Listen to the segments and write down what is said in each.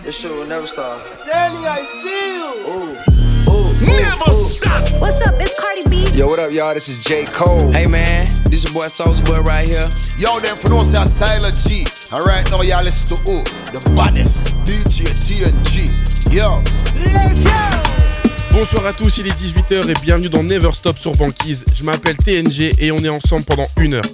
This shit will never stop. Danny, I see you. Never stop. What's up? It's Cardi B. Yo, what up, y'all? This is J. Cole. Hey man, this your boy Soulja Boy right here. Yo, them for no say Styler G. Alright, now y'all listen to who? The baddest DJ TNG. Yo. Let's go. Bonsoir à tous, il est 18h et bienvenue dans Never Stop sur Banquise. Je m'appelle TNG et on est ensemble pendant 1 heure.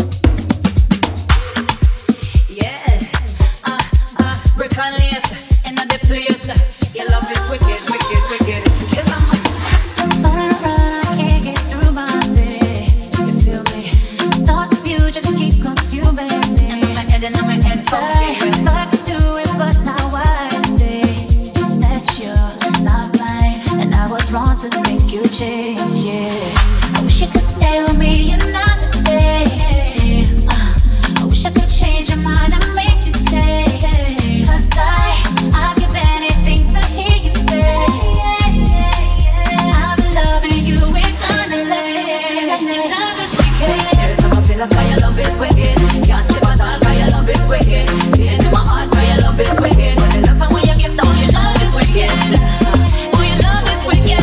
To make you change, yeah. I wish you could stay with me another day. I wish I could change your mind and make you stay. 'Cause I'd give anything to hear you say I've been loving you eternally. Love is wicked. There's some feel like your love is wicked. Can't sleep at all, but your love is wicked. Pain in my heart, but your love is wicked. But the love and when you give, don't you love is wicked. Oh, your love is wicked.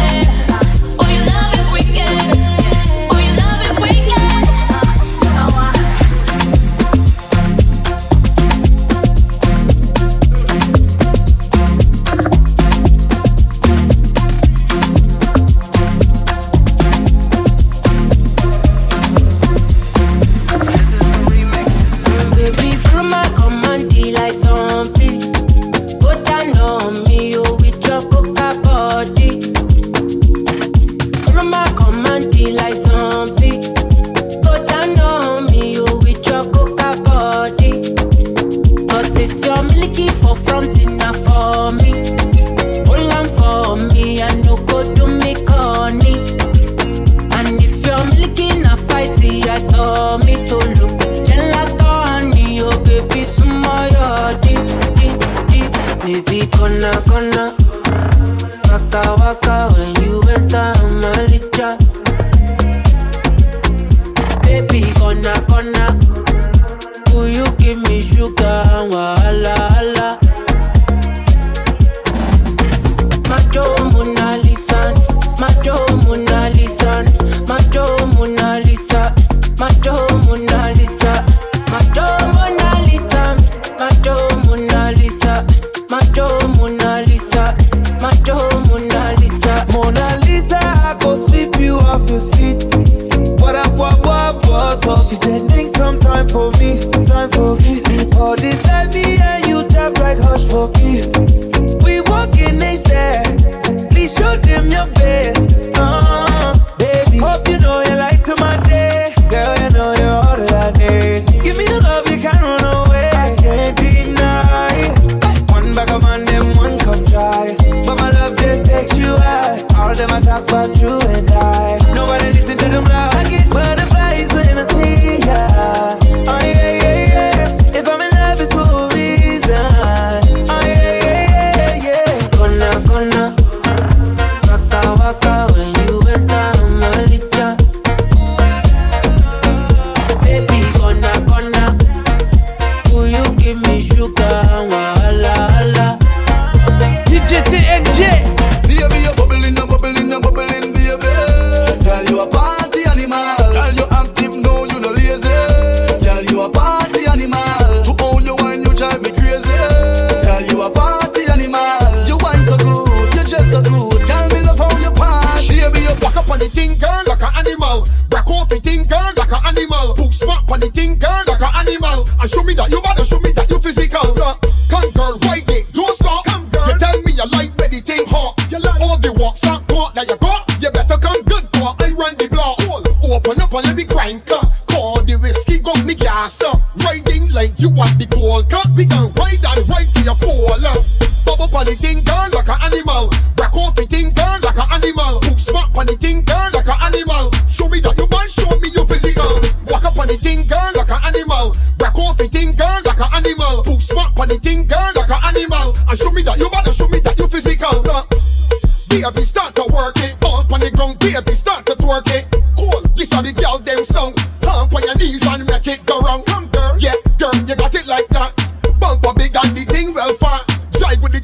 Baby, start to work it. All on the ground, baby, start to twerk it. Cool, this are the girl them song. Pump on your knees and make it go round. Come girl, yeah, girl, you got it like that. Bump a big and the thing well fat. Drive with the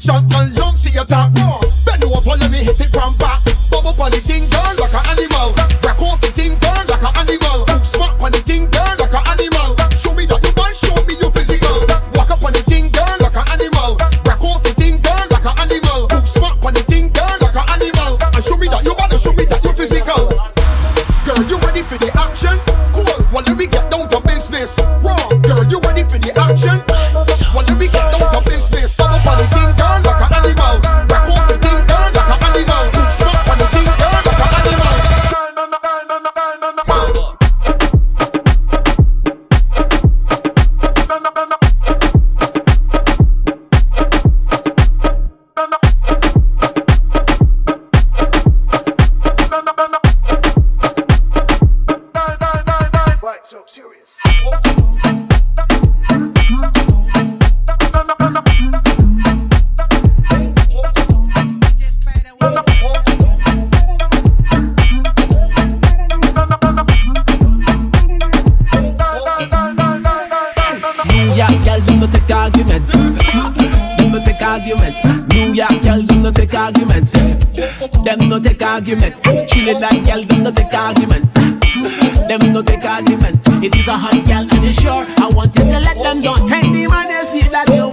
for the action. When we get down to business, set up on the thing, girl, like an animal. Back up the thing, girl, like an animal. Smoke on the thing, girl, like an animal. Shine on the burn on the burn on the burn. So serious. New York girl, them no take arguments. Them no take arguments. Trinidad girl, them no take arguments. Them no take arguments. If he's a hot girl and you're sure, I want you to let them know. Any man you see that you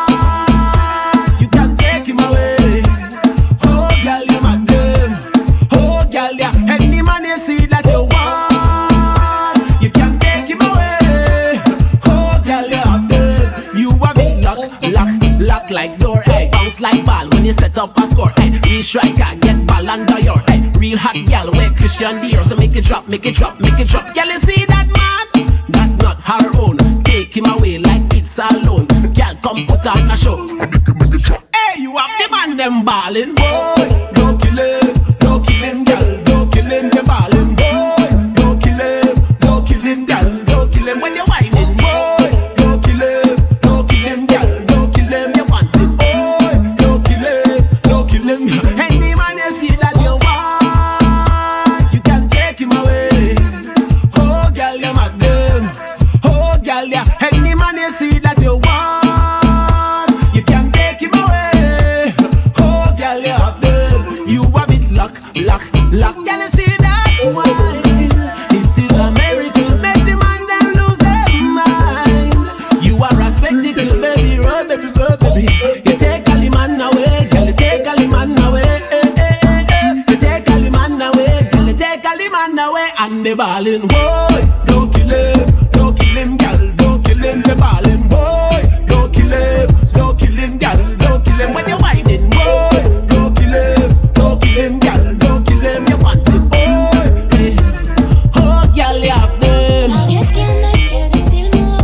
want, you can take him away. Oh girl, you mad them. Oh girl, yeah. Any man you see that you want, you can take him away. Oh girl, you have them. You have it lock like door. Hey, bounce like ball when you set up a score. Hey, real striker, get ball under your. Hey, real hot gal, where Christian Dior. So make it drop, make it drop, make it drop. Girl, you see that man? That not her own. Take him away like it's alone. Girl, come put on a show. Hey, you have the man them ballin', boy. Don't kill him, girl. Don't kill him, the ballin', boy. Don't kill him, girl. Don't kill him when you're whining, boy. Don't kill him, girl. Don't kill him, you want it, boy. Don't kill him. Any man you see that you want, you can take him away. Oh, girl, you mad them. Oh, girl, yeah. Any man you see that you want, you can take him away. Oh, girl, you have them. You have it lock. Girl, you see that's why it is a miracle. Make the man them lose their mind. You are a spectacle, baby, oh, baby. You take all the man away, girl. You take all the man away. You take all the man away, girl. You take all the man away, and the ballin', boy. Don't kill him, girl. Don't kill him, the ballin', boy. Don't kill him, girl. Don't kill him when you're whining, boy. Don't kill him, girl. Don't kill him, you want it, boy. Oh, girl, you have them. Nadie tiene que decírmelo.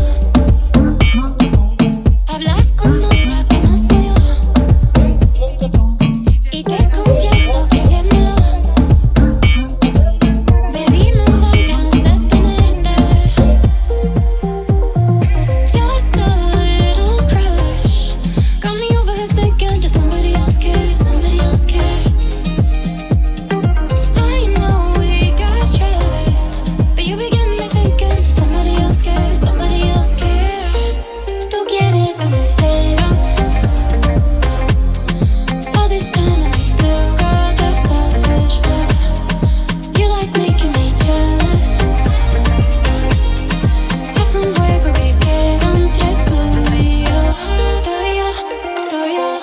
Hablas con otra que no soy yo. Y te confieso que viéndolo, baby, me dan ganas de tenerte. Just a little crush. Got me overthinking, just somebody else cares, somebody else cares. I know we got trust, but you begin me thinking, just somebody else cares, somebody else cares. Tú quieres darme celos. All this time and we still got that selfish love. You like making me jealous. Es un juego que queda entre tú y yo, tú y yo, tú y yo.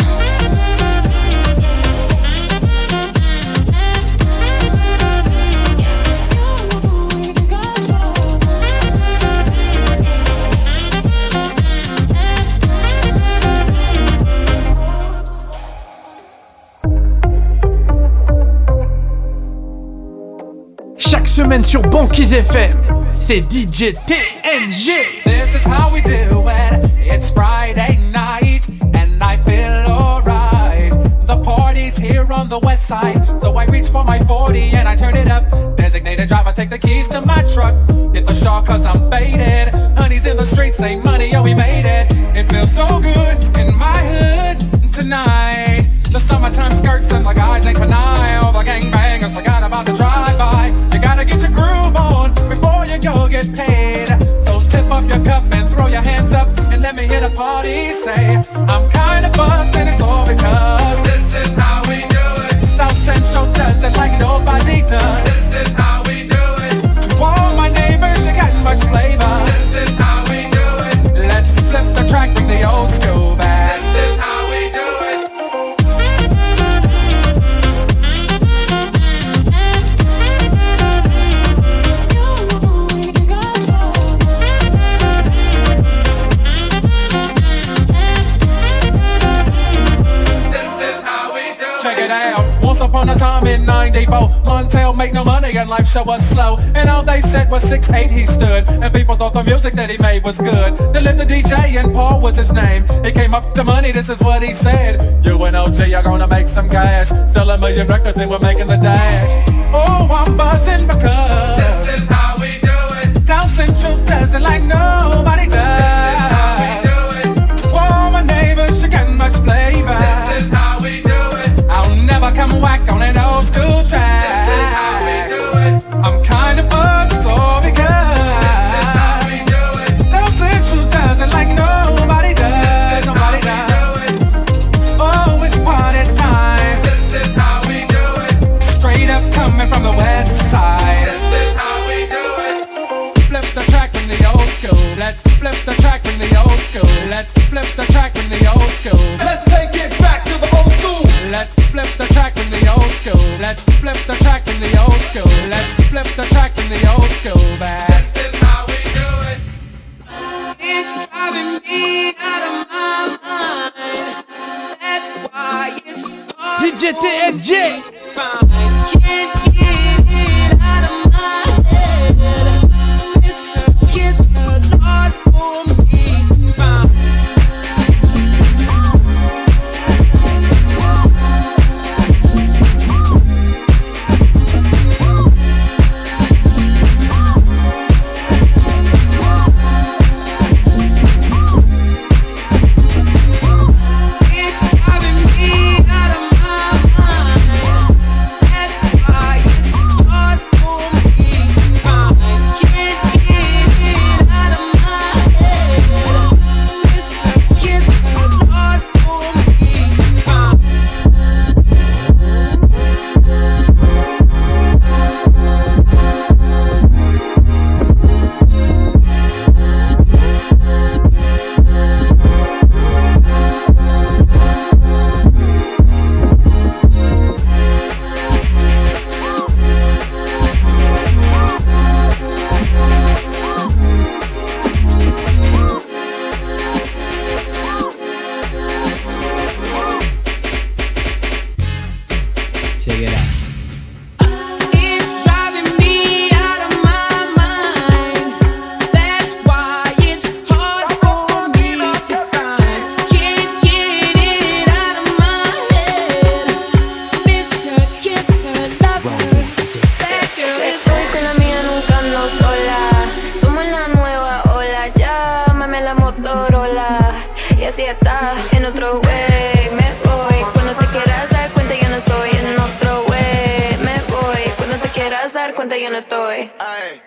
Chaque semaine sur Banquise FM, c'est DJ TNG. This is how we do it. It's Friday night and I feel alright. The party's here on the west side, so I reach for my 40 and I turn it up. Designated driver, take the keys to my truck. Hit the shawl cause I'm faded. Honey's in the streets, say money, yo, we made it. It feels so good in my hood tonight. The summertime skirts and the guys ain't canine. All the gangbangers forgot about the drive-by. You gotta get your groove on before you go get paid. So tip up your cup and throw your hands up and let me hear the party say, I'm kinda buzzed and it's all because this is how we do it. South Central does it like nobody does. This is how we do it. To all my neighbors, you got much flavor. This is how we do it. Let's flip the track, bring the old school back. This is how we do it. upon a time in 94, Montel make no money and life show was slow. And all they said was 6'8" he stood, and people thought the music that he made was good. They lived a DJ and Paul was his name. He came up to money, this is what he said. You and OG are gonna make some cash, sell 1 million records and we're making the dash. Oh, I'm buzzing because this is how we do it. South Central does it like nobody does. This is how we do it. To all my neighbors, you got much flavor. This is how we do it. I'll never come whack on an old school track. This is how we do it. I'm kind of buzzed, so because this is how we do it. South Central does it like nobody does. Nobody does. Oh, it's party time. This is how we do it. Straight up coming from the west side. This is how we do it. Flip the track from the old school. Let's flip the track from the old school. Let's flip the track from the old school. Let's take it back to the old school. Let's flip the track from the old school. Let's flip the track from the old school. Let's flip the track from the old school back. This is how we do it. It's driving me out of my mind. That's why it's hard DJ TNG. Can't get it out of my head. Miss her, kiss her, Lord, for me to find. It's driving me out of my mind. That's why it's hard for me to find. Can't get it out of my head. Miss her, kiss her, Lord, for me to find. Check it out. It's driving me out of my mind. That's why it's hard for me to find. Can't get it out of my head. Miss her, kiss her, love her. That girl is Estoy con la mía, nunca ando sola. Somos la nueva ola, llámame a la Motorola. Y así está, en otro way me voy. Cuando te quieras dar cuenta yo no estoy en otro way me voy. Cuando te quieras dar cuenta yo no estoy. Aye.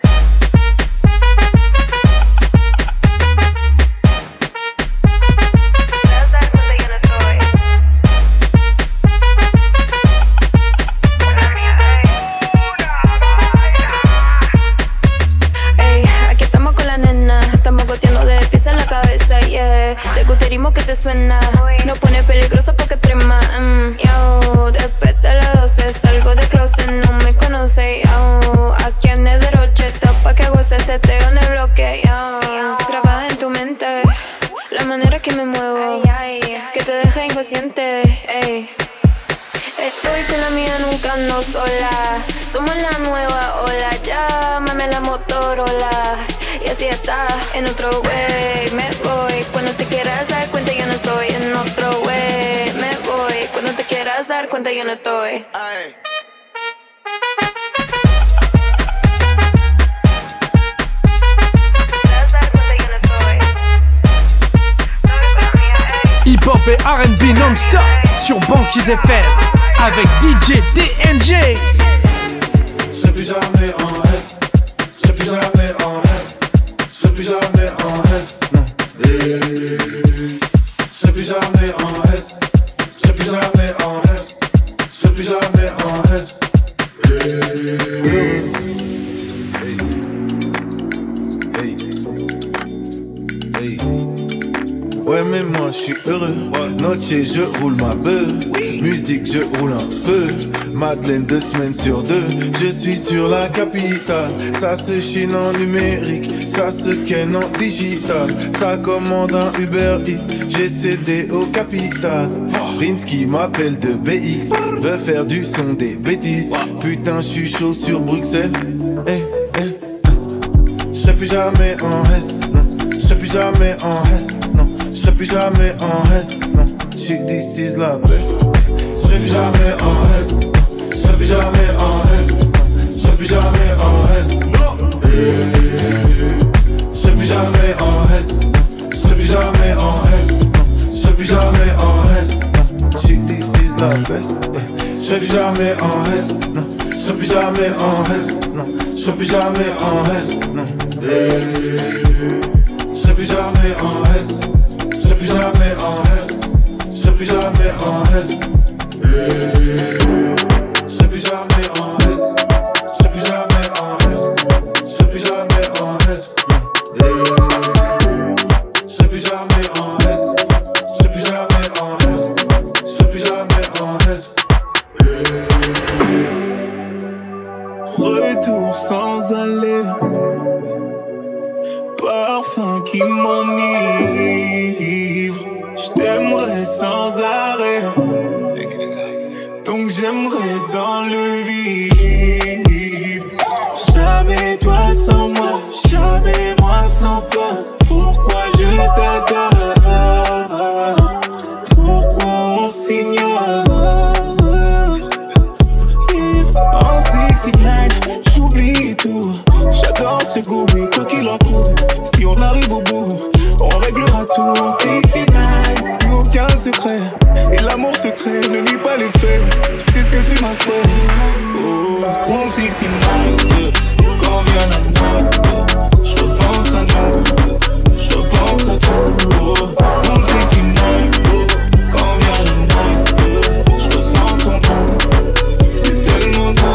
Quieras dar cuenta yo no estoy. Ey, aquí estamos con la nena. Estamos goteando de pies en la cabeza, yeah. Te gusta el ritmo que te suena. No pone peligrosa porque trema. Yo, después de las 12 salgo de closet, no me conoce. Yo, aquí en el derroche, pa' que goces, te teo en el bloque. Yo, grabada en tu mente, la manera que me muevo, que te deja inconsciente. Ey. Estoy con la mía, nunca ando sola. Somos la nueva ola, llámame a la Motorola. Y así está, en otro way me voy. Cuando te quieras dar cuenta yo no estoy en otro way me voy. Cuando te quieras dar cuenta yo no estoy. Aye. Quieras dar cuenta yo no estoy. Hip hop et R&B non-stop sur Banquise FM avec DJ TNG. Je serai plus jamais en S. Je serai plus jamais en S. Je serai plus jamais en S. Non. Je serai plus jamais en S. Je serai plus jamais en S. Je serai plus jamais en S. Ouais mais moi je suis heureux. Noche je roule ma beuh. Musique je roule un peu. Madeleine 2 semaines sur 2. Je suis sur la capitale. Ça se chine en numérique. Ça se ken en digital. Ça commande un Uber Eats. J'ai cédé au capital. Prince qui m'appelle de BX veut faire du son des bêtises. Putain je suis chaud sur Bruxelles. J'serai plus jamais en S, non. J'serai plus jamais en S, non. J'serai plus jamais en S, non. J'suis d'ici la peste. J'serai plus jamais en S, j'serai plus jamais en S, j'serai plus jamais en S, j'serai plus jamais en S, j'serai plus jamais en S, j'serai plus jamais en S, j'suis d'ici la peste. J'serai plus jamais en S, non. J'serai plus jamais en S, non. J'serai plus jamais en S, non. J'serai plus jamais en S, j'serai plus jamais en S, j'serai plus jamais en S, j'serai plus jamais en S, j'serai plus jamais en S, j'serai plus jamais en S, j'serai plus jamais en S, j'serai plus jamais en S, j'serai plus jamais en S. Retour sans aller, parfum qui m'enivre. J't'aimerais sans arrêt, donc j'aimerais dans le vide. Jamais toi sans moi, jamais moi sans toi. Pourquoi je t'adore? Pourquoi on s'ignore? En 69, j'oublie tout. J'adore ce goût, mais quoi qu'il en coûte, si on arrive au bout, on réglera tout. En 69, plus aucun secret. Et l'amour secret ne nie pas les faits. C'est ce que tu m'as fait. Oh, Room 69, quand vient la nuit, je repense à nous, je repense à tout. Oh, Room 69, quand vient la nuit, je ressens ton goût. C'est tellement doux.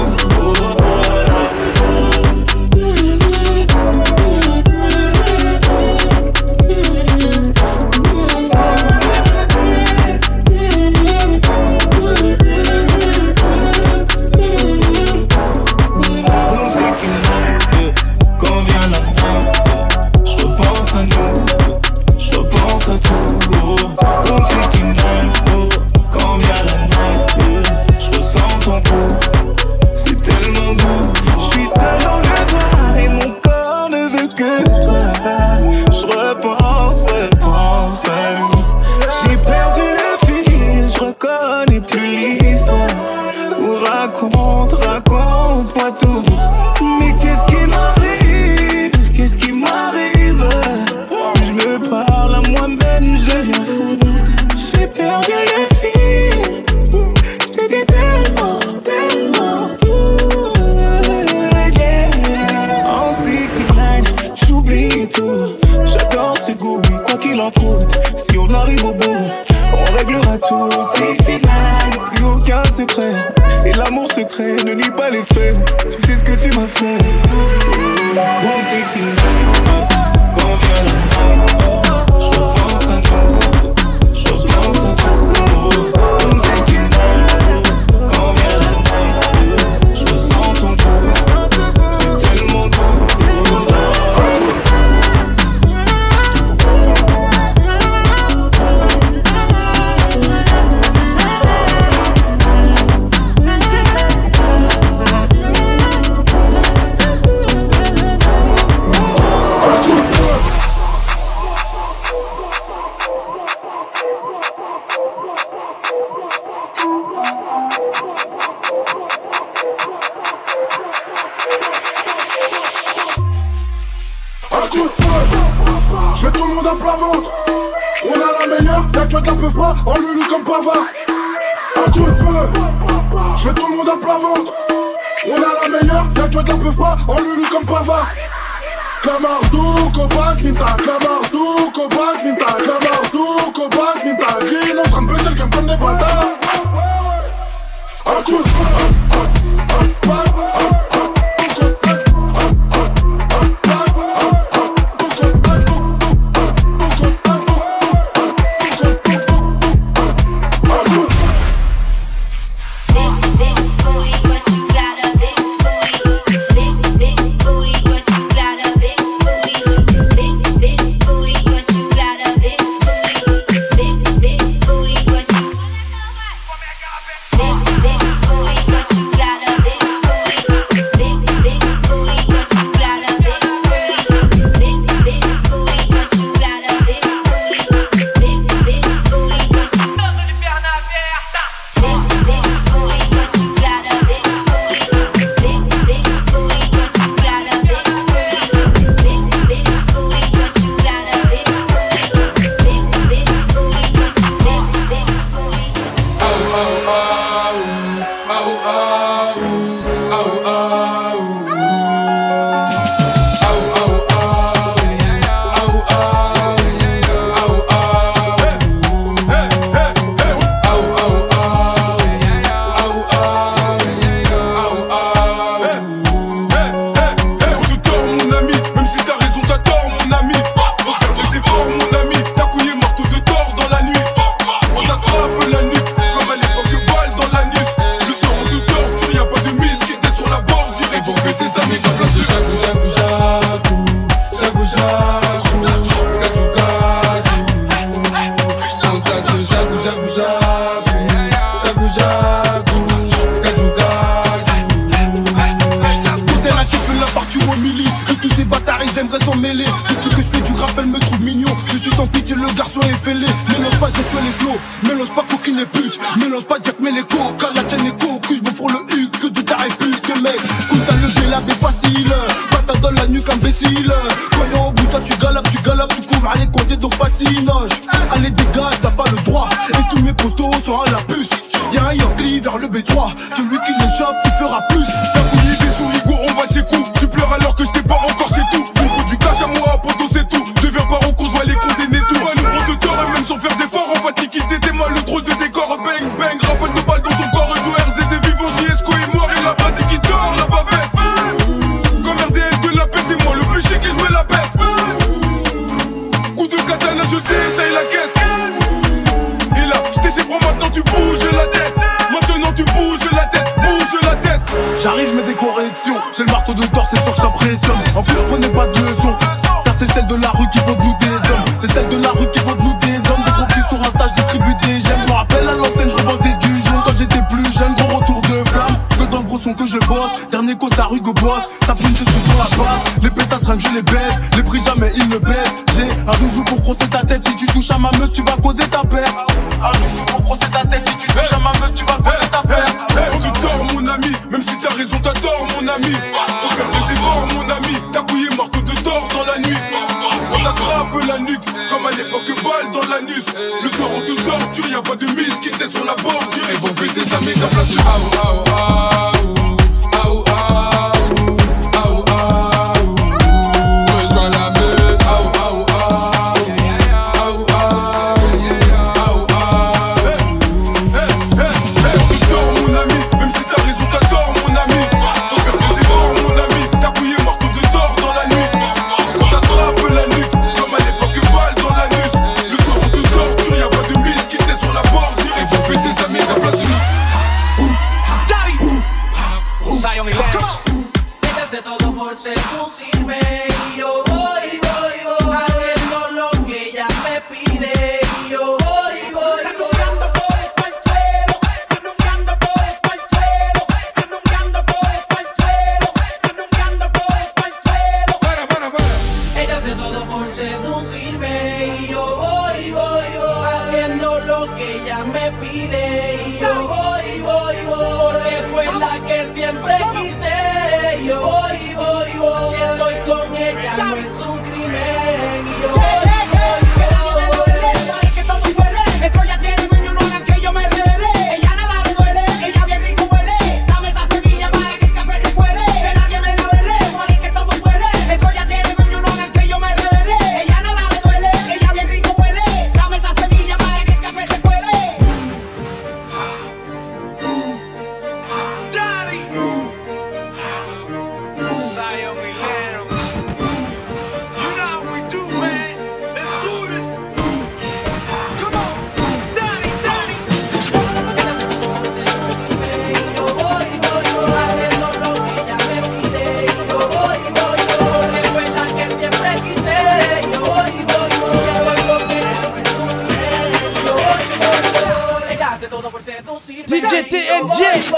Raconte-moi tout. Mais qu'est-ce qui m'arrive? Qu'est-ce qui m'arrive? Je me parle à moi-même, je deviens fou. J'ai perdu le fil. C'était tellement, tellement doux. Yeah. En 69, j'oublie tout. J'adore ce goût, oui, quoi qu'il en coûte. Si on arrive au bout, on réglera tout. 69, plus aucun secret. Et l'amour secret ne nie pas les faits. Tu sais ce que tu m'as fait. Room 69, quand vient la nuit, je repense à nous, je repense à tout. Room 69, quand vient la nuit, je ressens ton goût. C'est tellement doux. Je mets tout le monde à plat ventre. On a la meilleure, y'a que d'un peu froid, on le loue comme pavard. Un coup de feu. Je mets tout le monde à plat ventre. On a la meilleure, y'a que d'un peu froid, on le loue comme pavard. Clamarzou, Kopak, Minta, Clamarzou, Kopak, Minta, Clamarzou, Kopak, Minta. Jean en train de baiser le cam comme des bâtards. Un coup de feu. Jagou Jagou Kajou Quand elle a kiffé la partie où on milite, et tous ces bâtards ils aimeraient s'en mêler. Depuis que je fais du rap elle me trouve mignon. Je suis sans pitié, le garçon est fêlé. Mélange pas Jack les flots, mélange pas coquine et pute. Mélange pas Jack mais les coques, la tienne est coque. Je me fous le huc, que de taré pute mec. Quand t'as levé la baie facile, patate dans la nuque imbécile. Quand y'a en bout toi tu galopes, tu couvres les comptes donc patinage. Allez dégage, t'as pas le droit. Et tous mes potos sont à la puce. Y'a un Yankee vers le B3, celui qui le chope, il fera plus. T'as couillé des sous-rigots, on va tes coups. Tu pleures alors que je t'ai pas encore chez tout. Il faut du cash à moi, poto c'est tout. Deviens parent qu'on va les condamner tout. Ouais, le gros de tort et même sans faire d'effort, on va te quitter tes mal le drôle de décor. Bang bang, rafale de balles dans ton corps. Du RZ des vivants, JSCO est mort et la bâtie qui dort, la bavette. Comme RDS de la paix, c'est moi le plus chic et je me la pète. Coup de katana, je détaille la quête. Et là, je t'ai prends maintenant tu bouges la tête. Maintenant tu bouges la tête, bouge la tête. J'arrive, je mets des corrections. J'ai le marteau de Thor, c'est sûr que je t'impressionne. En plus, je prenais pas de leçons. Car c'est celle de la rue qui vaut de nous des hommes. C'est celle de la rue qui vaut de nous des hommes. Des gros culs sur un stage, distribue des gemmes. Je me rappelle à l'ancienne, je revendais du jaune. Quand j'étais plus jeune, gros retour de flamme. Que dans le gros son que je bosse. Dernier costard Hugo Boss. Tape une je suis sur la base. Les pétasses rien que je les baisse. Les prix jamais ils ne baissent. J'ai un joujou pour crosser ta tête. Si tu touches à ma meute, tu vas causer ta perte. Un joujou pour crosser ta tête. Si tu touches à ma meute, tu vas causer ta perte. On te tord mon ami, même si t'as raison t'as tort mon ami. Faut faire des efforts mon ami, t'as couillé marteau de tort dans la nuit. On t'attrape la nuque, comme à l'époque balle dans l'anus. Le soir on te torture, y'a pas de mise qui t'aide sur la bordure. Et bon fait des amis qu'à place de rejoins la meute. Seducirme y yo voy, haciendo lo que ella me pide y yo voy, Sanungando por el parcero, sanungando por el parcero, sanungando por el parcero, sanungando por el parcero. Para. Ella hace todo por seducirme y yo voy, haciendo lo que ella me pide y yo voy, porque fue la que siempre quise y yo voy. Si estoy con ella no es un crimen y yo voy. Que todo duele, eso ya tiene dueño, no hagan que yo me revele. Ella nada le duele, ella bien rico huele. Dame esa semilla para que el café se cuele. Que nadie me la vele, que todo duele. Eso ya tiene dueño, no hagan que yo me revele. Ella nada le duele, ella bien rico huele. Dame esa semilla para que el café se cuele. DJ TNG.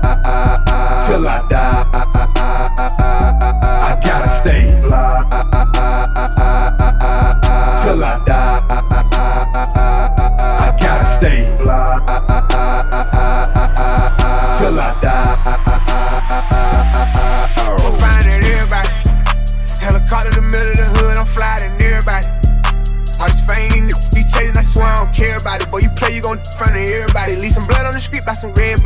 till I die. I gotta stay fly.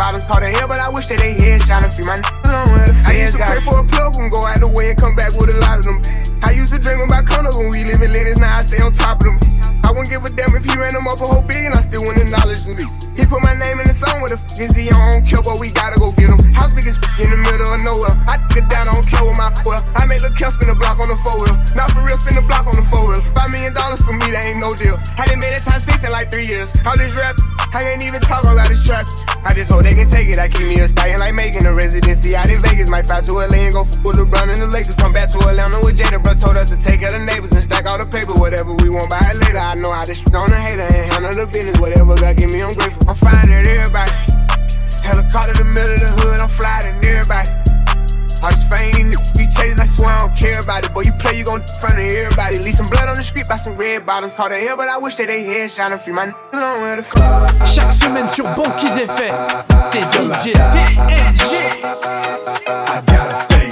bottoms hard to hell, but I wish that they head shine and free my along where the feds. I used to pray for a plug and go out the way and come back with a lot of them. I used to dream about condos when we live in Lennox, now I stay on top of them. I wouldn't give a damn if he ran them up a whole billion, I still wouldn't acknowledge him. He put my name in the song with a is he on kill, but we gotta go get him. House big as in the middle of nowhere. I took it down, I don't care with my well. I made Lil' Kel spin the block on the 4-wheel. Not for real, spin the block on the 4-wheel. $5 million for me, that ain't no deal. I done made it times 6 in like 3 years. All this rap, I ain't even talk about this trap. I just hope they can take it. I keep me a stallion like making a residency out in Vegas. Might fly to LA and go f with LeBron and the Lakers. Come back to Atlanta with Jada, bro. Told us to take care of the neighbors and stack all the paper. Whatever we want, buy it later. I know how to shit on the hater and handle the business. Whatever God give me, I'm grateful. I'm flying at everybody. Helicopter to the middle of the hood, I'm flying at everybody. All this fame, be chasing, I swear I don't care about it. Boy, you play, you gon' front of everybody. Leave some blood on the street by some red bottoms. Hard to hell, but I wish that they head shine and free my along where the Chaque semaine sur Banquise FM, c'est DJ TNG. I gotta stay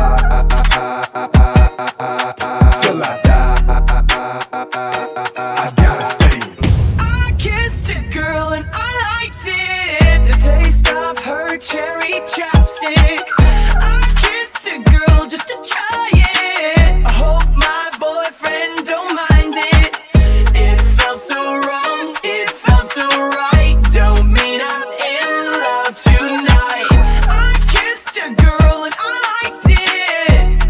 till I die. I gotta stay. I kissed a girl and I liked it. The taste of her cherry chapstick. I kissed a girl just to try it. I hope my boyfriend don't mind it. It felt so wrong, it felt so right. Don't mean I'm in love tonight. I kissed a girl and I liked it.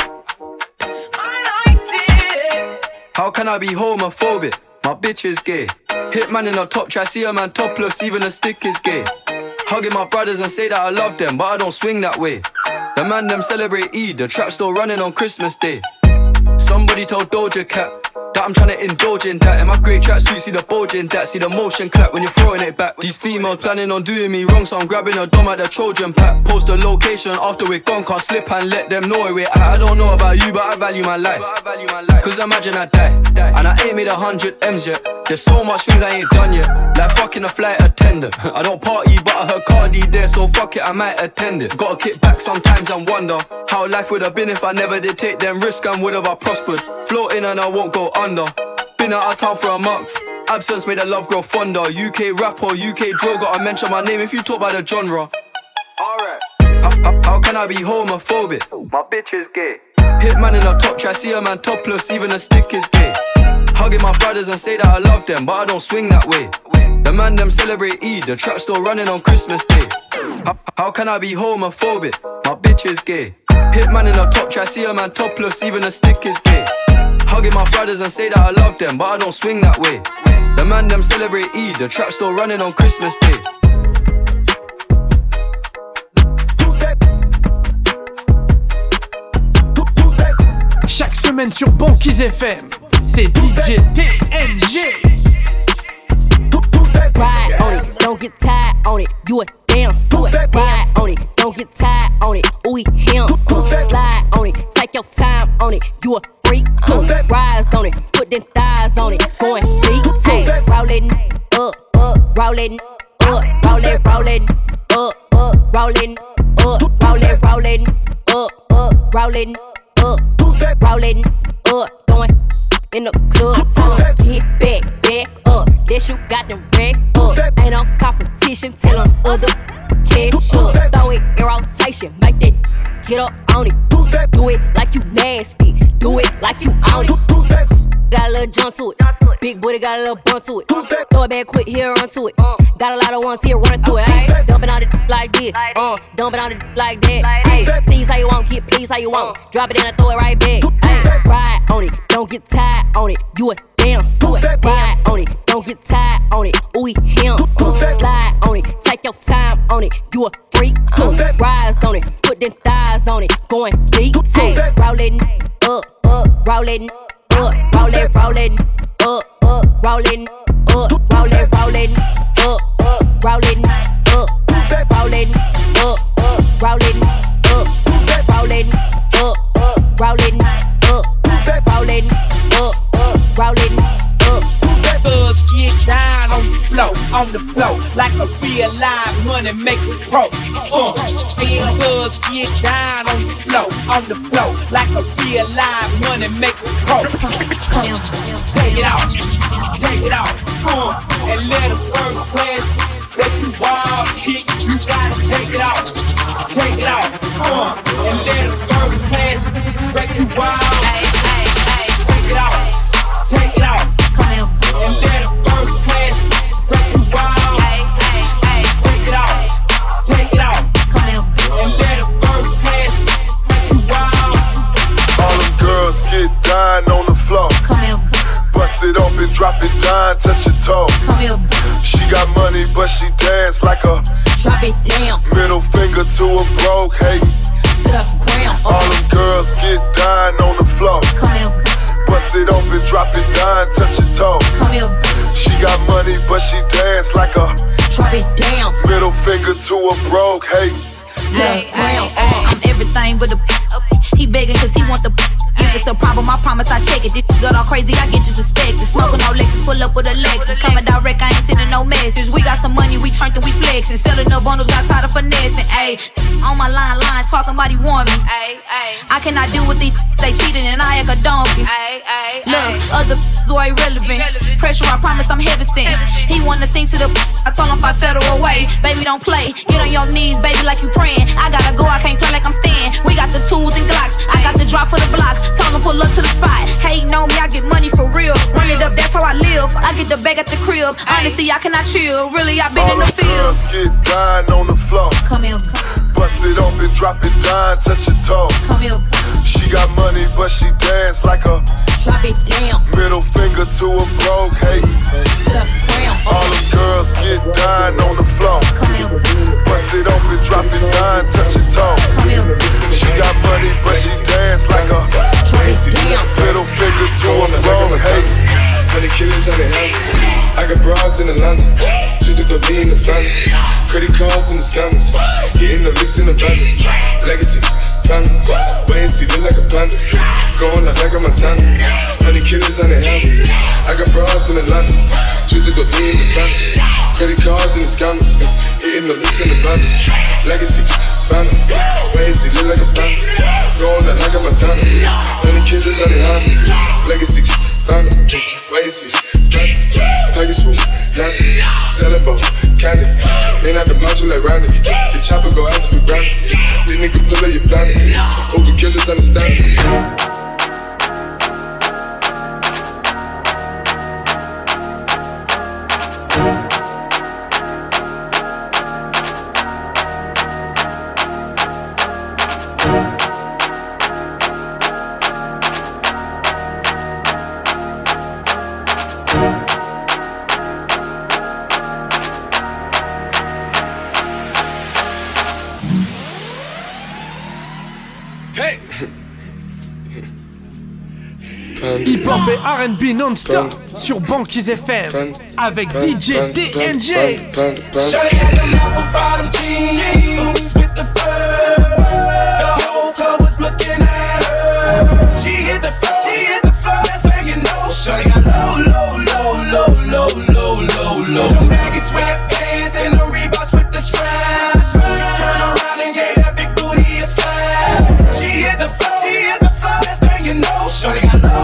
I liked it. How can I be homophobic? My bitch is gay. Hitman in a top try, see a man topless, even a stick is gay. Hugging my brothers and say that I love them, but I don't swing that way. The man them celebrate Eid, the trap still running on Christmas Day. Somebody told Doja Cat that I'm tryna indulge in that. In my grey tracksuit, see the bulge in that. See the motion clap when you're throwing it back. These females planning on doing me wrong, so I'm grabbing a dom at the Trojan pack. Post the location after we're gone, can't slip and let them know where we're at. I don't know about you, but I value my life. Cause imagine I die, and I ain't made 100 M's yet. There's so much things I ain't done yet, like fucking a flight attendant. I don't party, but I heard Cardi there, so fuck it, I might attend it. Gotta kick back sometimes and wonder how life would have been if I never did take them risks and would have I prospered. Floating and I won't go under. Been out of town for a month. Absence made the love grow fonder. UK rapper, UK drill, gotta mention my name if you talk about the genre. Alright. How can I be homophobic? My bitch is gay. Hitman in a top try, see a man topless, even a stick is gay. Hugging my brothers and say that I love them, but I don't swing that way. The man them celebrate Eid, the trap still running on Christmas Day. How can I be homophobic? My bitch is gay. Hitman in a top try, see a man topless, even a stick is gay. Hugging my brothers and say that I love them, but I don't swing that way. The man them celebrate Eid, the trap still running on Christmas Day. Chaque semaine sur Banquise FM, c'est DJ TNG. Ride on it, don't get tired on it. You a damn suit. Ride on it, don't get tired on it. Ooh, him. Slide on it, take your time on it. You a freak too. Rise on it, put them thighs on it. Going deep too. Rollin' up, rollin' up, rollin' up, rollin' up, rollin' up, rollin' up, rollin' up, going in the club. Tell 'em get back up. Guess you got them racks up. Ain't no competition, tell 'em other catch up. Throw it in rotation, make that get up on it. Do it like you nasty, do it like you on it. Got a little jump to it, big booty got a little bump to it. Throw it back quick, here run to it. Got a lot of ones here run through it. Ayy, dumping on it like this, dumping on it like that. Ayy, tease how you want, get please how you want. Drop it and I throw it right back. Ayy, ride on it, don't get tired on it. You a damn suit. Ride on it, don't get tired on it. Ooh, him. Slide on it, take your time on it. You a freak too. Rise on it, put them thighs on it. Going deep too. Rollin' up, rollin' up, rollin' up, rollin' up, rollin' up, rollin' up, rollin' up, rollin' up, rollin' up, rollin' up, rollin' up, rollin' up. Thugs get down on the floor, like a real live money making pro. Real thugs get down on the floor, like a real live money making pro. Take it off, and let a first class break you wild, kick, you gotta take it out. Take it out, and let it first pass, break you wild. Take it out, take it out, and let it first pass, break you wild. Take it out, take it out, and let it first pass, break you wild. All them girls get dying on the floor. Bust it up and drop it down, touch your toe. She got money, but she dance like a drop it down. Middle finger to a broke hating. To the ground. All them girls get dying on the floor. Bust it up and drop it down, touch your toe. She got money, but she dance like a drop it down. Middle finger to a broke hating. I'm everything but a he begging cause he want the if it's a problem, I promise I check it. This got all crazy, I get disrespected. Smoking all Lexus, pull up with a Lexus. Coming direct, I ain't sending no message. We got some money, we turned and we flexing. Selling up bundles, got tired of finessing. Ayy, on my line, talking about he want me. I cannot deal with these, they cheating and I act a donkey. Look, other are irrelevant. Pressure, I promise I'm heavy sent. He wanna sing to the I told him if I settle away, baby don't play. Get on your knees, baby, like you praying. I gotta go, I can't play like I'm staying. We got the tools and Glocks, I got the drop for the block. Told him pull up to the spot. Hating on me, I get money for real. Run it up, that's how I live. I get the bag at the crib. Honestly, I cannot chill. Really, I been in the field. Girls get dying on the floor. Come here. Bust it up and drop it down, touch your toe. Come here. She got money, but she dance like a drop it down. Middle finger to a broke hating. To the ground. All them girls get dying on the floor. Come here. Bust it up and drop it down, touch your toe. Come here. She got money, but she dance like a drop it down. Middle finger to a broke hating. Honey killers on the hands. I got broads in Atlanta. Just to be in the family. Credit cards in the scammers. Getting the licks in the van. Legacies, family. Wait and see, look like a panda. Going out like a Montana. Honey killers on the hands. I got broads in Atlanta. Just to be in the family. Credit cards in the scammers. Getting the licks in the van. Legacies, family. Wait and see, look like a panda. Going out like a Montana. Honey killers on the hands. Legacies. Wait and see, Pegasus, Dandy, selling both, candy. Ain't out the macho like Randy. The chopper go out to be branded. These niggas pull up your planet. Open killers understand it. Hip-hop et R&B non-stop sur Banquise FM avec DJ TNG. Shawty had them apple bottom jeans with the fur. The whole club was looking at her. She hit the floor, that's where you know. Shawty got low. Them baggy sweatpants and the Reeboks with the straps. She turned around and gave that big booty a slap. She hit the floor, that's where you know. Shawty got low.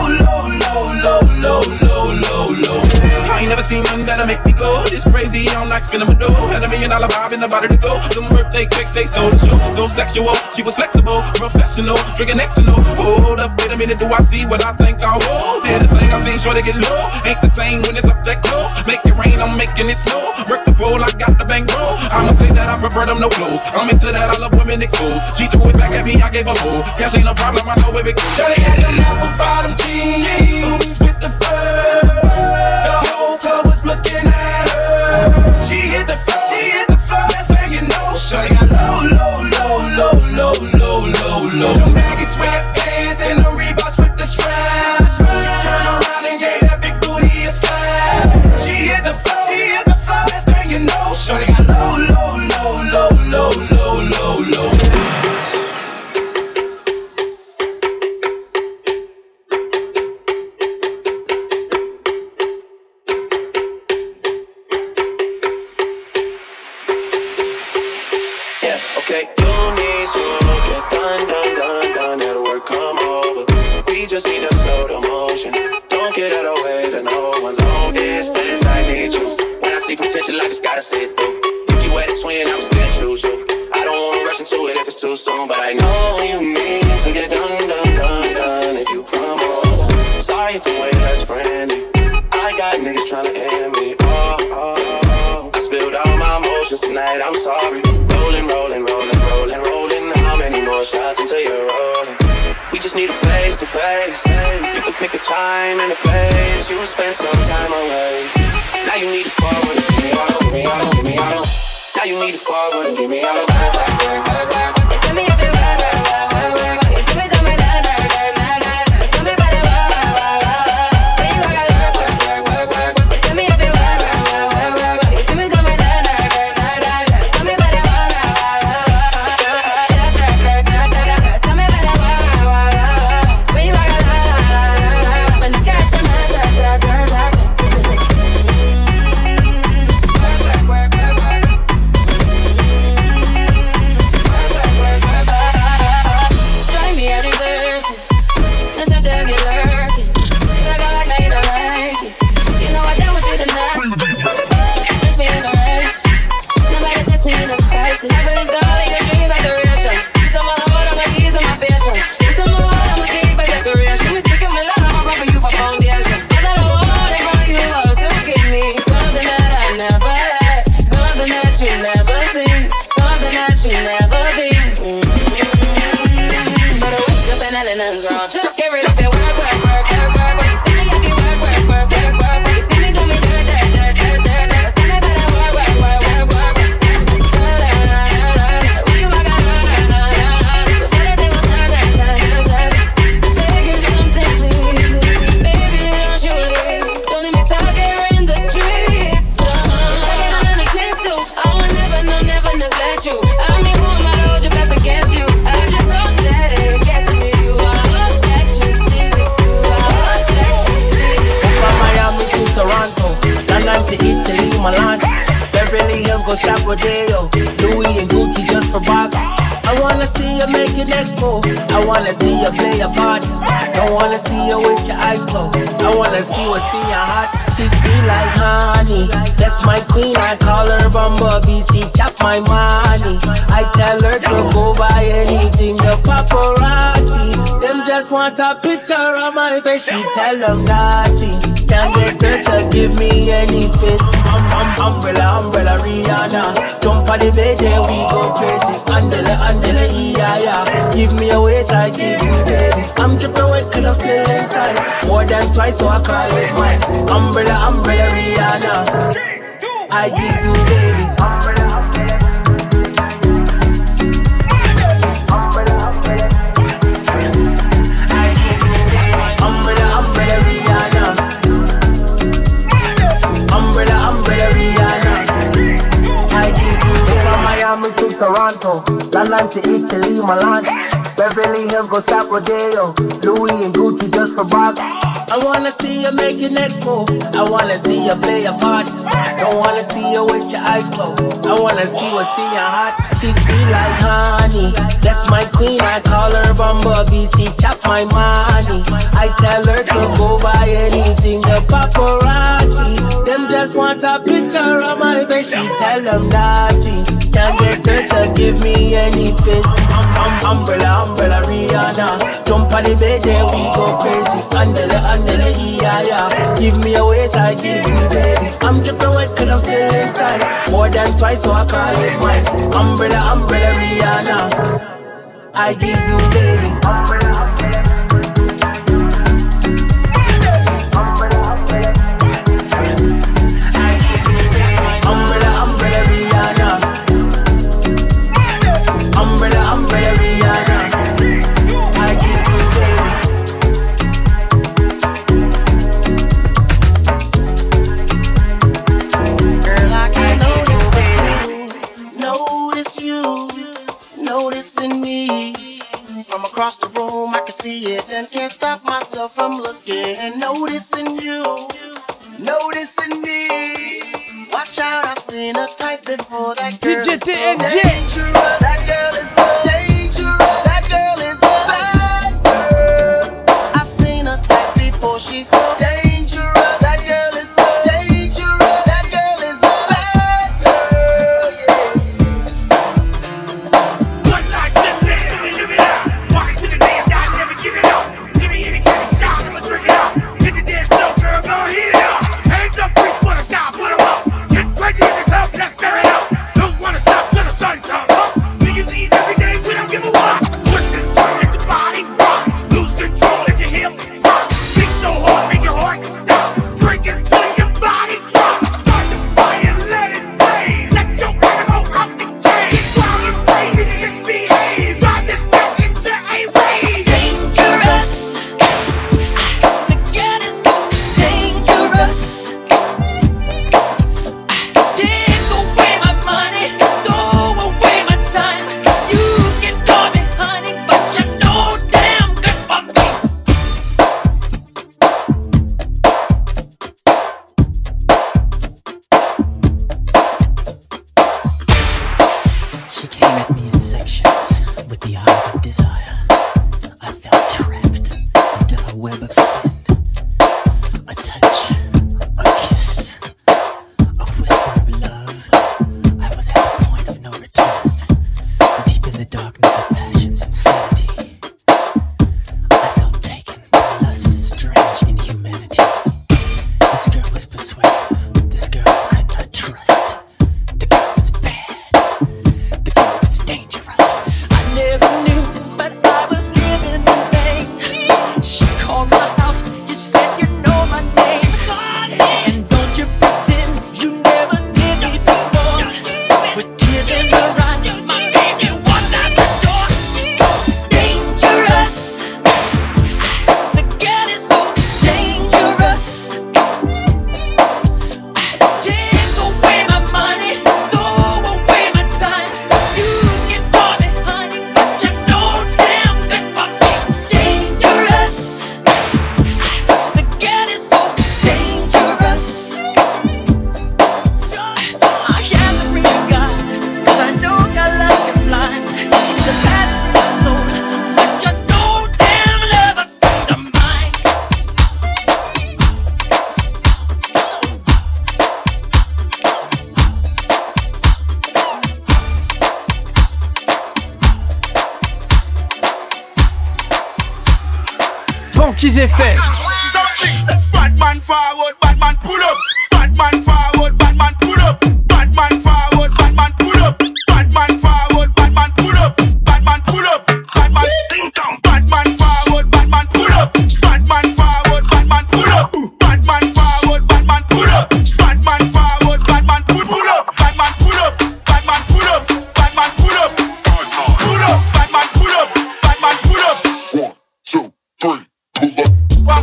I ain't never seen nothing that'll make me go this crazy. I'm like spinning my dough. Had $1 million vibe in the body to go. Them birthday cakes, they stole the show. So sexual, she was flexible, professional, drinking Xanol. Hold up, wait a minute, do I see what I think I will? Did the thing I seen, sure to get low. Ain't the same when it's up that close. Make it rain, I'm making it snow. Work the pole, I got the bankroll. I'ma say that I prefer them no clothes. I'm into that, I love women exposed. She threw it back at me, I gave her low. Cash ain't a problem, I know where it goes. Shawty had them apple bottom jeans with the fur. The whole club was looking at her. She hit the floor, that's where you know. Shawty got low. Them baggy sweatpants and the Reeboks with the straps. She turned around and gave that big booty a slap. She hit the floor, that's where you know. Shawty got low. Just need to slow the motion. Don't get out of the way to no one. Long distance, I need you. When I see potential, I just gotta see it through. between, I would still choose you. I don't wanna rush into it if it's too soon, but I know you mean to get done if you come over. Sorry if I'm way less friendly. I got niggas tryna end me. I spilled all my emotions tonight, I'm sorry. Rolling. How many more shots until you're rolling? We just need a face to face. You can pick a time and a place. You will spend some time away. Now you need to forward and give me all. Now you need to forward and give me all. You tell me if you work. You see me coming down. You tell me about it. When you gotta work. You tell me if you work. You see me coming down. You tell me about it. Tell me about it. When you gotta when the cat from just get rid of it, work. You see me if you work. You see me do me dirt. You see me better work. When you walk out, before the tables turn. Beg you something, please. Baby, don't you leave. Don't let me stop there in the streets. If I get another chance to, I will never neglect you. I mean, who am I to hold your best against you? I just hope that it gets to you. Toronto, London to Italy, Milan, Beverly Hills, go shop Rodeo, Louis and Gucci just for Bob. I wanna see you make your next move. I wanna see you play a part. Don't wanna see you with your eyes closed. I wanna see what's in your heart. She's sweet like honey. That's my queen. I call her Bumblebee. She chop my money. I tell her to go buy anything. The paparazzi, them just want a picture of my face. She tell them naughty. Can't get her to give me any space. Umbrella, Rihanna. Jump on the bed and we go crazy. Andele, yeah. Give me a waist, I give you baby. I'm dripping wet cause I'm still inside. More than twice, so I call it mine. Umbrella, Rihanna. I give you baby. To Toronto, London to Italy, Milan, Beverly Hills, go shop Rodeo, Louis and Gucci just for Bob. I wanna see you make your next move. I wanna see you play a part. Don't wanna see you with your eyes closed. I wanna see what's in your heart. She's sweet like honey. That's my queen. I call her Bumblebee. She chop my money. I tell her to go buy anything. The paparazzi, them just want a picture of my face. She tell them naughty. Can't get her to give me any space. Umbrella, Rihanna. Jump on the bed and we go crazy. Andele, yeah. Give me a waist, I give you baby. I'm dripping wet cause I'm still inside. More than twice, so I call it mine. Umbrella, Rihanna. I give you baby. Across the room, I can see it and can't stop myself from looking and noticing you, noticing me. Watch out, I've seen a type before. That girl DJ is so TNG. dangerous. That girl is so dangerous. That girl is a bad girl. I've seen a type before. She's so dangerous. That girl is so dangerous. That girl is a bad girl. Yeah. Banquise FM. Bad man forward, bad man pull up. Bad man forward, bad man pull up. Bad man forward, bad man pull up. Bad man forward, bad man pull up. Bad man pull up. Bad man ding dong. Bad man forward, bad man pull up. Bad man forward, bad man pull up. Bad man forward, bad man pull up. Bad man forward, bad man pull up. Bad man pull up. Bad man pull up. Bad man pull up. Pull up. Bad man pull up. Bad man pull up. 1, 2, 3, pull up.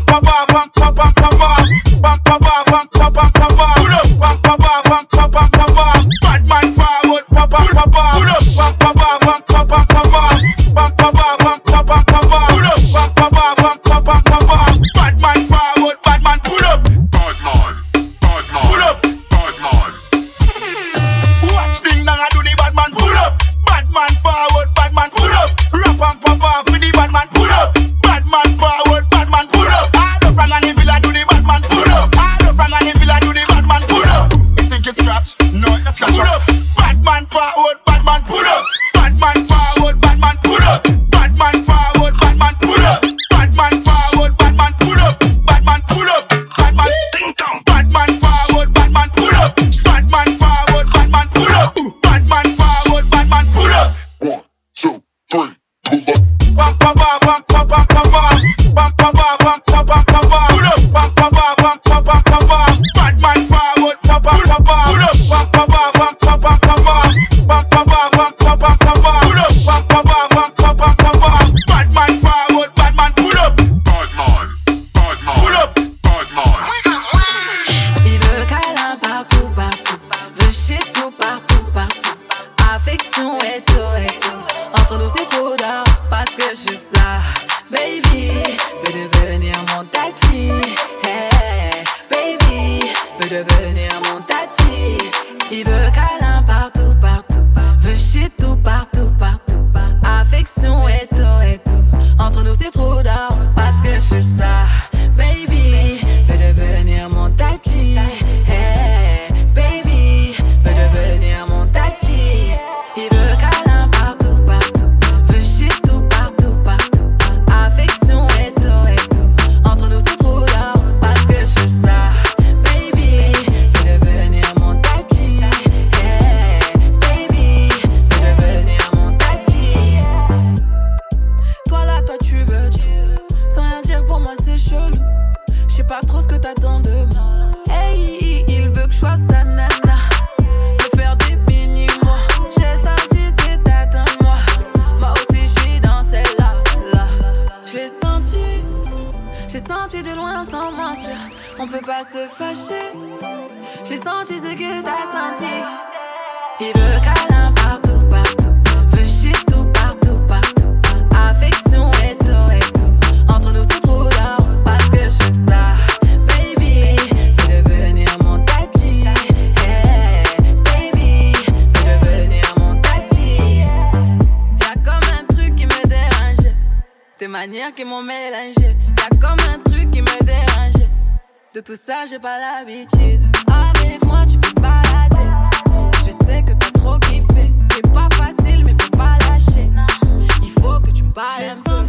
Qui m'ont mélangé, y'a comme un truc qui me dérangeait. De tout ça j'ai pas l'habitude. Avec moi tu peux te balader. Je sais que t'as trop kiffé. C'est pas facile mais faut pas lâcher. Il faut que tu me parles un peu.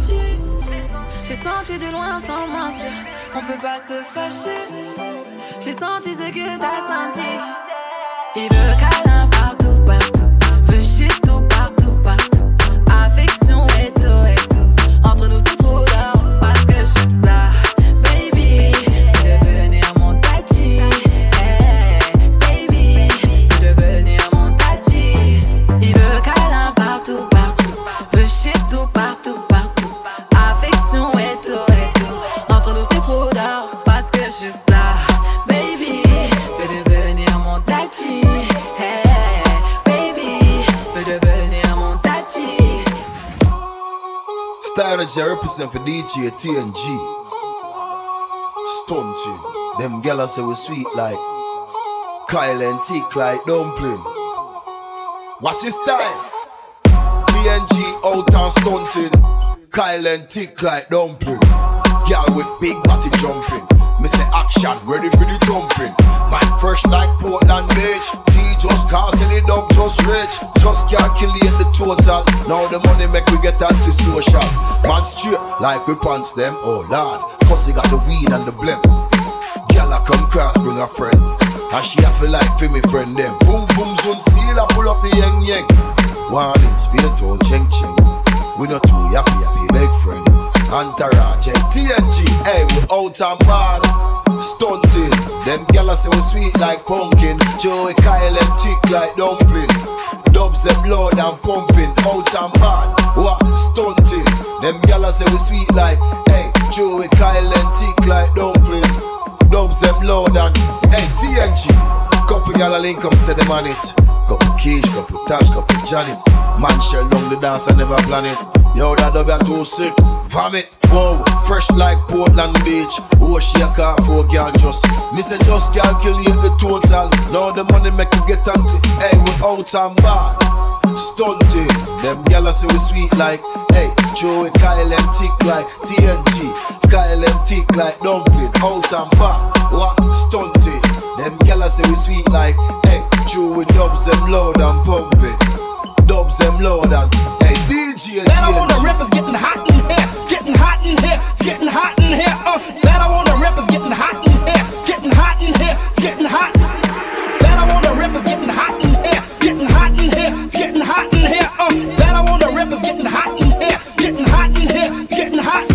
J'ai senti de loin sans mentir. On peut pas se fâcher. J'ai senti ce que t'as senti. Il veut câlin partout, partout. Veut shit tout partout, partout. Affection et tout et tout. Entre nous c'est trop d'or parce que je suis ça. Baby, veux devenir mon tati. Hey, baby, veux devenir mon tati. Il veut câlin partout, partout. Veut shit tout partout, partout. Affection et tout. Entre nous c'est trop d'or parce que je suis ça. Baby, veux devenir mon tati. Hey, baby, veux devenir mon tati. Stylogy represent for DJ TNG. Stunting. Them gals say we sweet like Kyle and thick like dumpling. What's his style? TNG out and stunting. Kyle and thick like dumpling. Girl with big body jumping. Me say action, ready for the thumping. Man fresh like Portland Beach. DJ Just cause any dog just rich. Just calculate the total. Now the money make we get anti-social. Man straight like we pants them, oh lord. Cause he got the weed and the blimp. Gyal come cross, bring a friend. And she a feel like for me friend them. Boom boom zone seal, I pull up the yang yang. One in speed tone cheng cheng. We not too happy big friend. Entourage, TNG, hey we out and bad. Stunting, them gyal say we sweet like pumpkin. Joey Kyle and thick like dumpling. Dubs them loud and pumping, out and bad. What stunting, them gyal say we sweet like, hey Joey Kyle and thick like dumpling. Dubs them loud and, hey TNG. Couple gyal link up, say them on it. Couple Keish, couple Tash, couple Johnny. Man shell down the dance, I never plan it. Yo, that dub ya too sick. Vomit, wow, fresh like Portland Beach. Oh, she a car for girl just. Me say just calculate the total. Now the money make you get anti. Hey, we out and bad. Stunting, them gyal say we sweet like. Hey, Joey Kyle and thick like TNG. Kyle and thick like dumpling. Out and bad, what? Stunting, them gyal say we sweet like. Hey, Joey dubs them loud and pumping. Dubs them loud and hey DJ and That I want the rappers getting hot in here, getting hot in here, it's getting hot in here. That I want the rappers getting hot in here, getting hot in here, it's getting hot. That I want the rappers getting hot in here, getting hot in here, it's getting hot in here. That I want the rappers getting hot in here, getting hot in here, it's getting hot.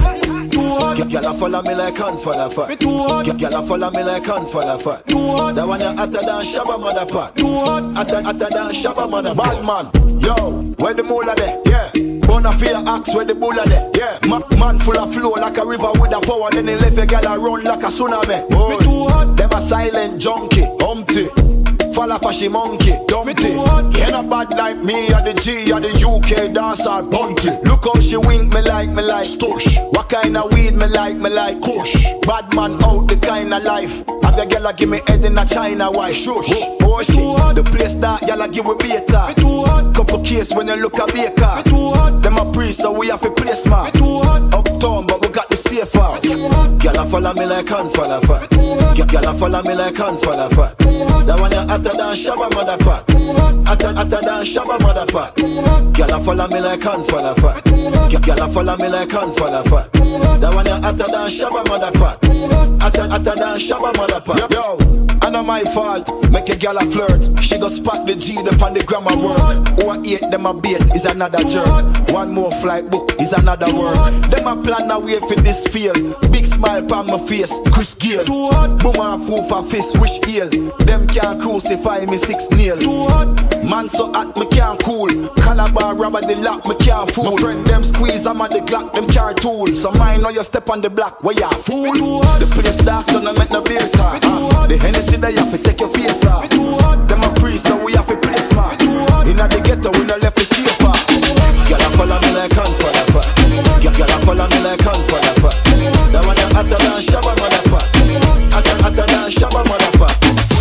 Gyal follow me like hands for the fat. Gyal follow me like hands for the fat. That one you hotter than Shabba motherfucker. Hotter than Shabba mother. Bad man, yo, where the moolah there? Yeah. Bonafide axe where the bulla there? Yeah. Man full of flow like a river with a power. Then he left a gyal run like a tsunami. Boy, them a silent junkie, humpty. Fall off a she monkey, dumpty. You ain't bad like me or the G or the UK dancer bunty. Look how she wink me like stush. What kind of weed me like kush. Bad man out the kind of life. Have your gyal give me head in a China white. Shush. Oh shit, the place that gyal give we beta. Couple case when you look a baker. Them a priest so we have a place man. Uptown but we got the safe out. Gyal follow me like hands for the fat. Gyal follow me like hands for the fat. That one you hotter than Shabba motherfucker. Hotter than Shabba motherfucker. Gyal follow me like hands for the fat. Gyal follow me like hands for the fat. That one you hotter than Shabba motherfucker. Hotter than Shabba motherfucker. Yo, I know my fault. Make a gyal a flirt. She go spot the G upon the grammar work. Or 8 them a bait is another jerk. One more flight book is another work. Them a plan a way for this field. Big smile pon my face, Chris Gale. Boom and fool for fist, wish heal. Them can't crucify me 6 nail. Man so hot me can't cool. Calabar rubber the lock me can't fool. My friend them squeeze I'm at the Glock them can't tool. So mine know you step on the block where you fool. The place dark so no make no beer talk. The Hennessy they have to take your face off. Them a priest so we have to play smart. Inna the ghetto we no left the safer. Gyal follow me like hands for the fat. Gyal follow me like hands for the fat. That one you hotter than Shabba motherfucker. Hotter than Shabba motherfucker.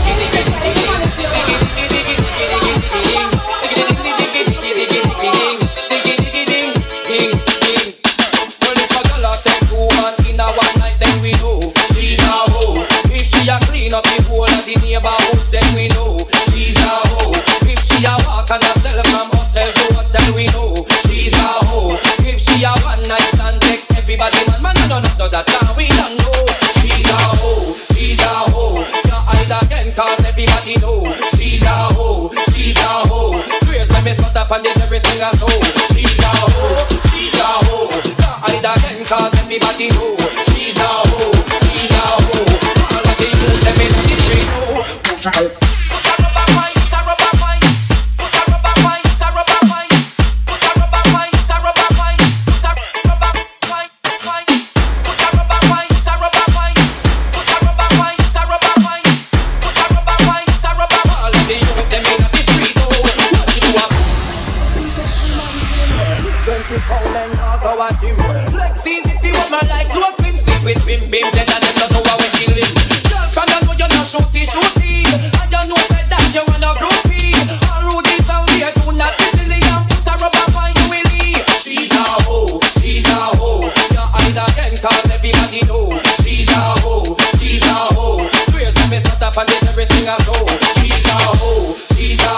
Clean up the whole of the neighborhood, then we know she's a hoe. If she a walk and a sell from hotel to hotel, we know she's a hoe. If she a one night stand, take everybody man, I don't know that now we don't know. She's a hoe, she's a hoe. Can't hide again cause everybody know she's a hoe, she's a hoe. Grace and me spot up on the terrace sing a hoe. She's a hoe, she's a hoe. Can't hide again cause everybody know she's a hoe, she's a hoe. She's a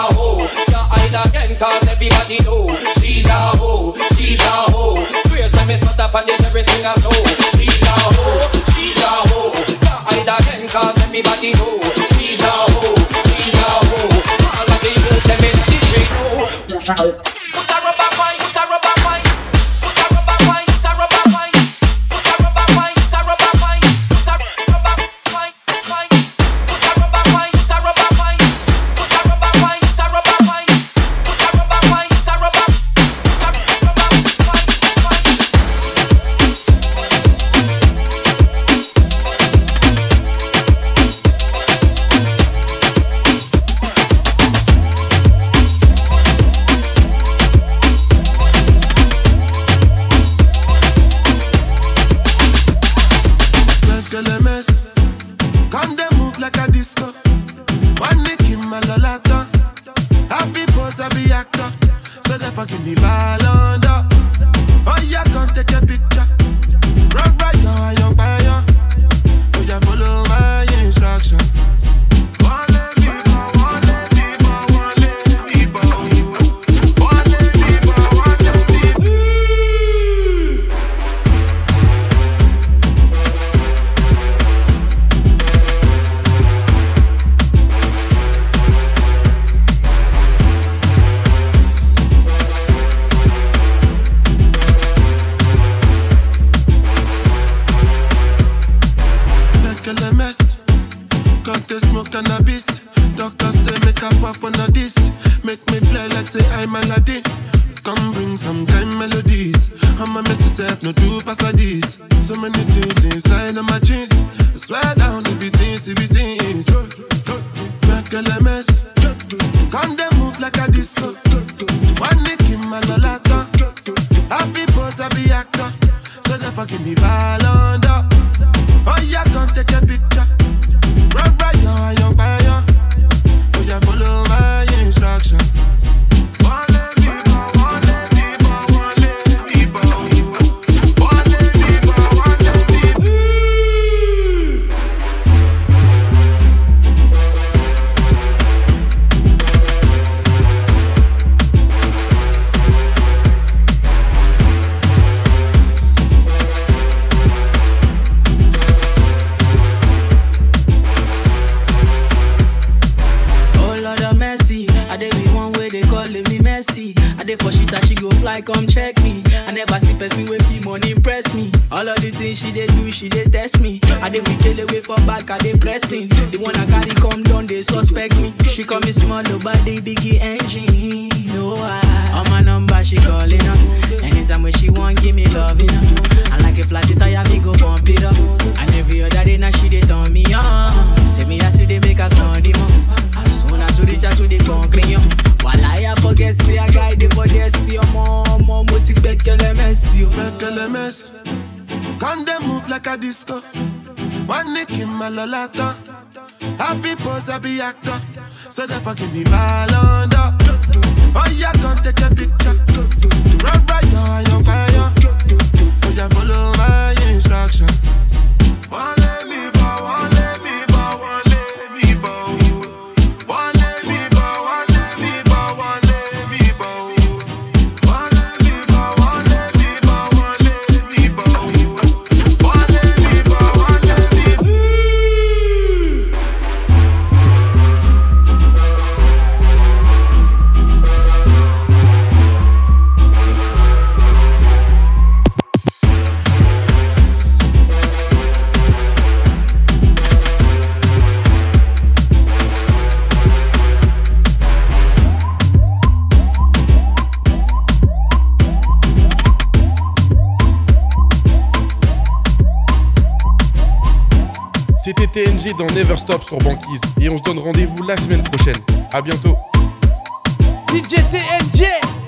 give me ball under. Oh yeah, come take a picture. Rock right, young fire. Oh yeah, follow my instruction. Cannabis, doctor say make a pop on this. Make me fly like say I'm Aladdin. Come bring some kind melodies. I'ma mess yourself, no do pass like this. So many things inside of my jeans. I swear down the beatings, the beatings. Make a mess. Come they move like a disco. One nick in my lolata. Happy pose, happy actor. So never give me ball under. Oh yeah, come take a picture. Rock right, young fire. Oh yeah, follow my instruction. For shit that she go fly, come check me. I never see person with fee money impress me. All of the things she dey do, she dey test me. I dey wicked away for back, I dey pressing. The one I carry come down, they suspect me. She call me small, but they biggie engine. No, on my number she calling up. Anytime when she want, give me loving up. And like a flat tire, me go pump it up. And every other day now she dey turn me on. Say me I see they make a condiment. As soon as we reach out to the concrete, while I forget, say I guide it for this. Your mom, motivate KLMS, you. KLMS, come they move like a disco. One nick in my lolata. Happy pose, happy actor. So never give me ball under. Oh yeah, come take a picture. Rock right, young fire. Oh yeah, follow my instruction. One let me bow, one let me bow, one let me bow. One let me bow, one let me bow, one let me bow. One let me bow, one let me bow, one let me bow. One let me bow, one let me bow. C'était TNG dans Never Stop sur Banquise et on se donne rendez-vous la semaine prochaine. À bientôt. DJ TNG.